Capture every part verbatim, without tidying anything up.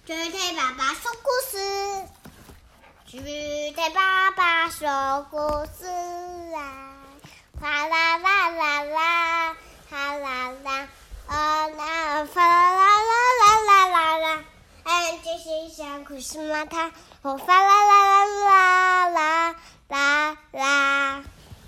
GK爸爸說故事 ，GK爸爸說故事啊，啦啦啦啦啦，啦啦啦，哦啦，啦啦啦啦啦啦，哎，这是讲故事吗？他，我啦啦啦啦啦啦啦。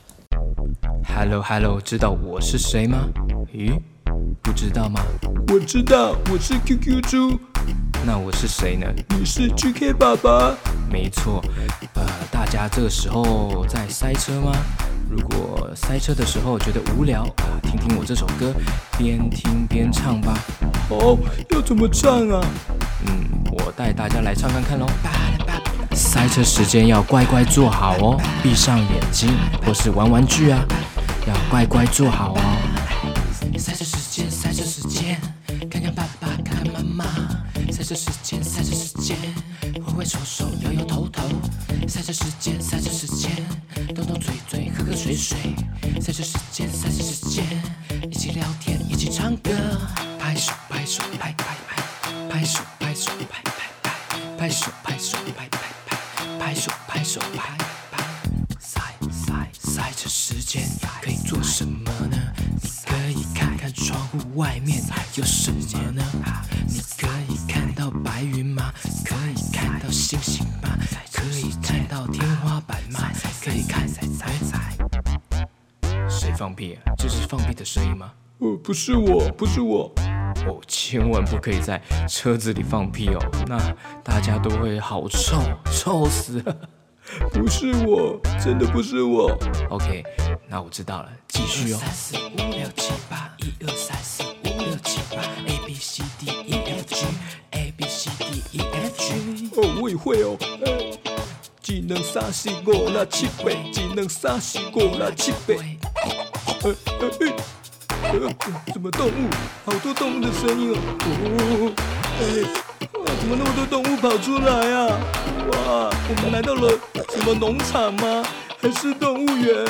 Hello Hello， 知道我是誰嗎？咦，不知道嗎？ 我知道，我是 Q Q 豬。 那我是誰呢？ 你是 G K 爸爸。 沒錯，呃，大家這個時候在塞車嗎？如果塞車的時候覺得無聊啊，聽聽我這首歌，邊聽邊唱吧。 哦，要怎麼唱啊？ 嗯，我帶大家來唱看看咯。塞車時間要乖乖坐好哦，閉上眼睛或是玩玩具啊，要乖乖坐好哦。塞車時間，塞車時間，看看爸爸，看看媽媽。塞車時間，塞車時間，揮揮手手，搖搖頭頭。塞車時間，塞車時間，動動嘴嘴，喝喝水水。塞車時間，塞車時間，一起聊天，一起唱歌。拍手拍手拍拍拍，拍手拍手拍拍拍，拍手拍手拍拍拍，拍手拍手拍拍。塞塞塞車時間可以做什麼呢？你可以看看窗戶外面有什麼呢？你可以看到白雲嗎？可以看到星星嗎？可以看到天花板嗎？可以看塞塞塞。誰放屁啊？這是放屁的聲音嗎？ 呃，不是我，不是我。 哦，千萬不可以在車子裡放屁哦，那大家都會好臭，臭死了。 不是我，真的不是我。 OK， 那我知道了，繼續哦。 三四五六七八，一二三四五六七八 ，A B C D E F G，A B C D E F G。 哦，我也會哦。欸、技能三四五六七八，技能三四五六七八。呃呃呃，什麼動物？好多動物的聲音哦。哦，哎，哇，怎麼那麼多動物跑出來啊？哇，我們來到了什麼農場嗎？還是動物園？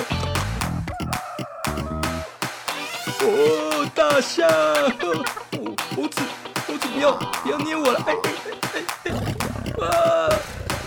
哦，大象！哦，猴子，猴子不要不要捏我了！哎哎哎哎！啊！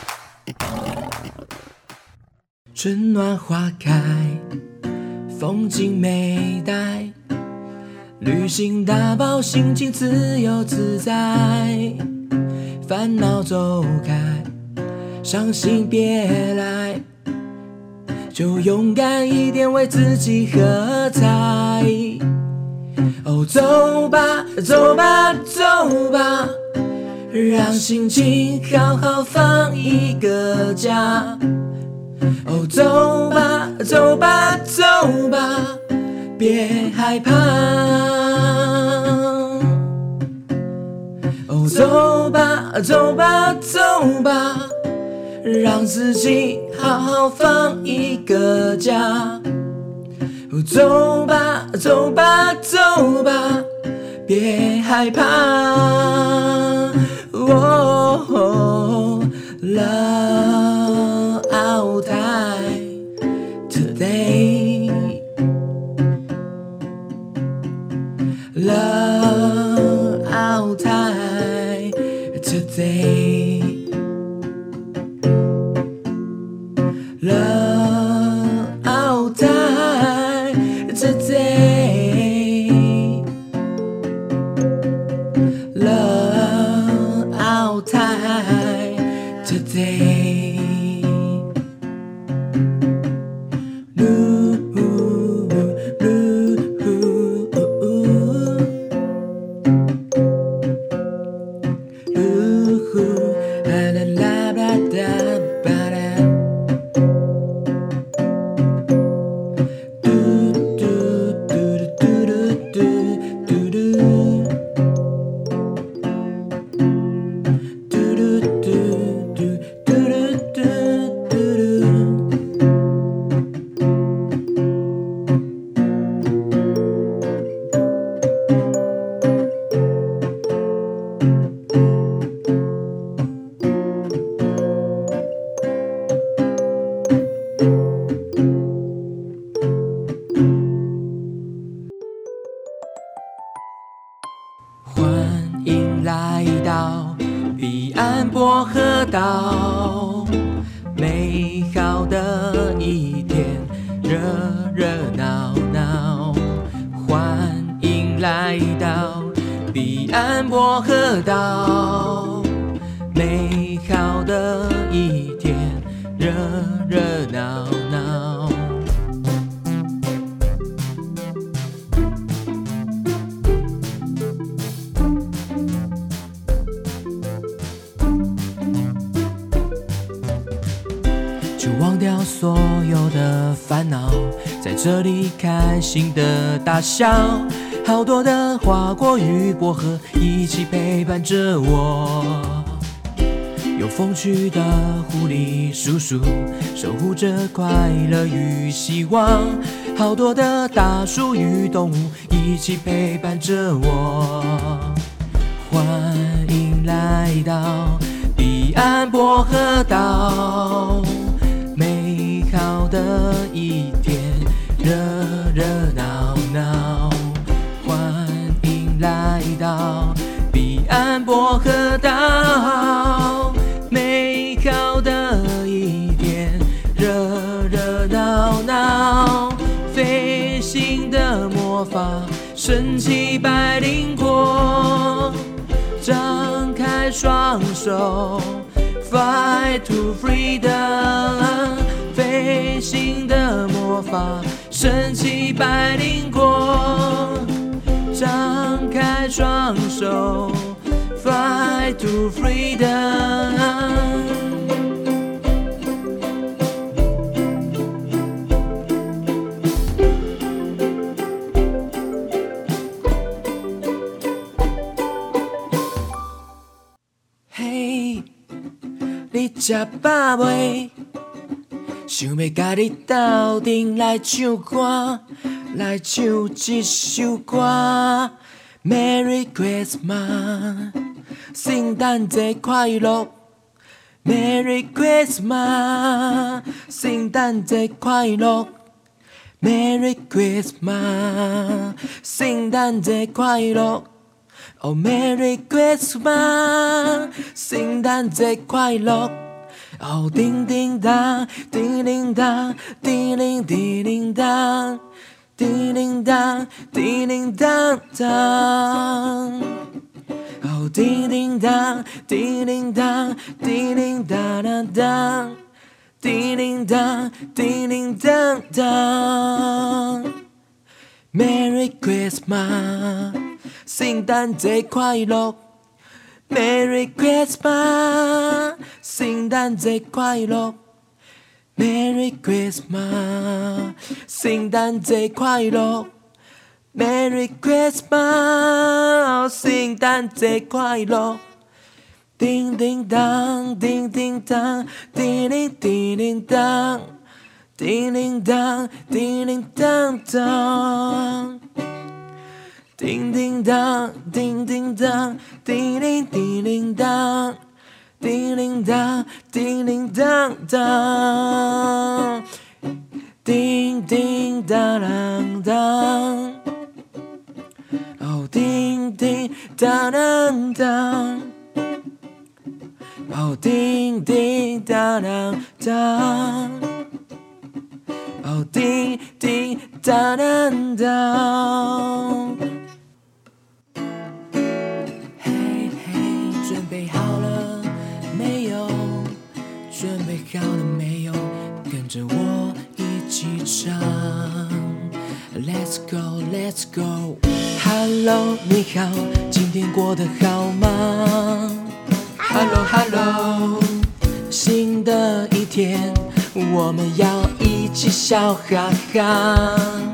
春暖花開，風景美呆，旅行打包，心情自由自在，煩惱走開，傷心別來，就勇敢一點，為自己喝彩。哦，走吧，走吧，走吧，讓心情好好放一個假。哦，走吧，走吧，走吧，別害怕。哦，走吧，走吧，走吧，讓自己好好放一個假。哦，走吧，走吧，走吧，別害怕。哦，Love out time today. Love out time today. Love out time today. Love out time today. Do do do do do do. 岸薄荷島，美好的一天，熱熱鬧鬧，歡迎來到彼岸薄荷島，美好的一天，熱熱鬧鬧。就忘掉所有的煩惱，在這裡開心的大笑。好多的花果與薄荷一起陪伴着我，有風趣的狐狸叔叔守護着快樂與希望。好多的大樹與動物一起陪伴着我，歡迎來到彼岸薄荷島，美好的一天，熱熱鬧鬧，歡迎來到彼岸薄荷島，美好的一天，熱熱鬧鬧，飛行的魔法，神奇百靈果，張開雙手 Fly to freedom， 飛行的魔法，神奇百靈果，張開雙手 Fly to freedom。 嘿，你吃飽未？想要甲你鬥陣來唱歌，來唱一首歌。Merry Christmas， 聖誕節快樂。Merry Christmas， 聖誕節快樂。Merry Christmas， 聖誕節快樂。Oh Merry Christmas， 聖誕節快樂。哦，叮叮當，叮鈴當，叮鈴叮鈴當，叮鈴當，叮鈴當當。哦，叮叮當，叮鈴當，叮鈴當當當，叮鈴當，叮鈴當當。Merry Christmas， 聖誕節快樂。Merry Christmas， 聖誕節快樂。Merry Christmas， 聖誕節快樂。Merry Christmas， 聖誕節快樂。叮叮當，叮叮當，叮鈴叮鈴當，叮鈴當，叮鈴當當。叮叮當，叮叮當，叮鈴叮鈴當，叮鈴當，叮鈴當當，叮叮當當當，哦，叮叮當當當，哦，叮叮當當當，哦，叮叮當當當。準備好了沒有？準備好了沒有？跟着我一起唱 Let's go, let's go。 Hello， 你好，今天過得好嗎？ Hello, Hello， 新的一天，我們要一起笑哈哈。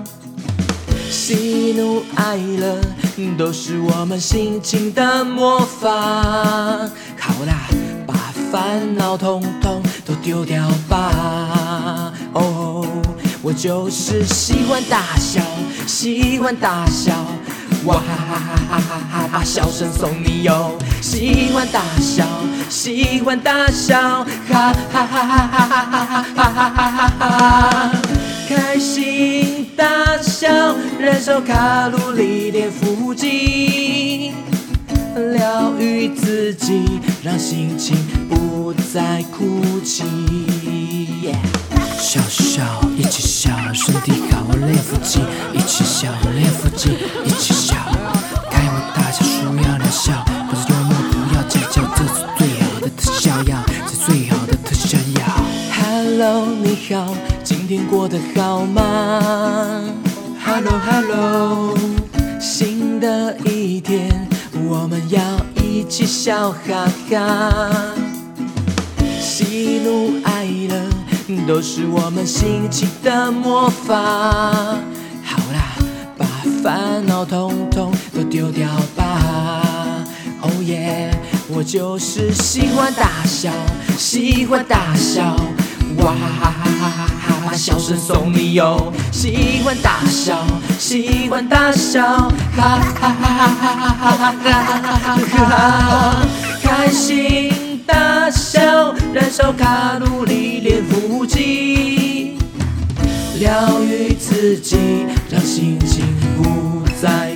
喜怒哀樂都是我們心情的魔法。好啦，把煩惱統統都丟掉吧。哦，我就是喜歡大笑，喜歡大笑，哇哈哈哈哈哈哈，把笑聲送你喲。喜歡大笑，喜歡大笑，哈哈哈哈哈哈哈哈哈哈哈。開心大笑，燃燒卡路里，練腹肌，療療癒自己，讓心情不再哭泣。Yeah. 笑笑，一起笑，身體好，練腹肌，一起笑，練腹肌，一起笑，開懷大笑，輸要療效，不是幽默，不要計較，這是最好的特效藥，是最好的特效藥。Hello， 你好，今天過得好嗎 ？Hello Hello， 新的一天，我們要一起笑哈哈，喜怒哀樂都是我們心情的魔法。好啦，把煩惱統統都丟掉吧。Oh yeah， 我就是喜歡大笑，喜歡大笑，哇哈哈哈哈哈哈，笑聲送你喲。喜歡大笑，喜歡大笑，哈哈哈哈哈哈哈哈，開心大笑，燃燒卡路里，練腹肌，療癒自己，讓心情不再